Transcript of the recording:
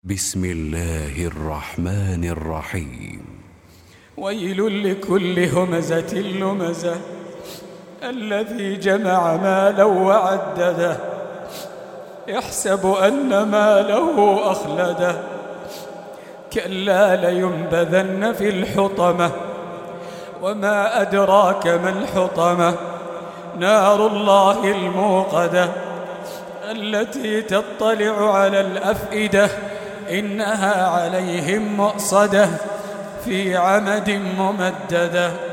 بسم الله الرحمن الرحيم. ويل لكل همزة لمزة الذي جمع مالا وعدده يحسب أن ماله أخلده كلا لينبذن في الحطمة وما أدراك ما الحطمة نار الله الموقدة التي تطلع على الأفئدة إنها عليهم مؤصدة في عمد ممددة.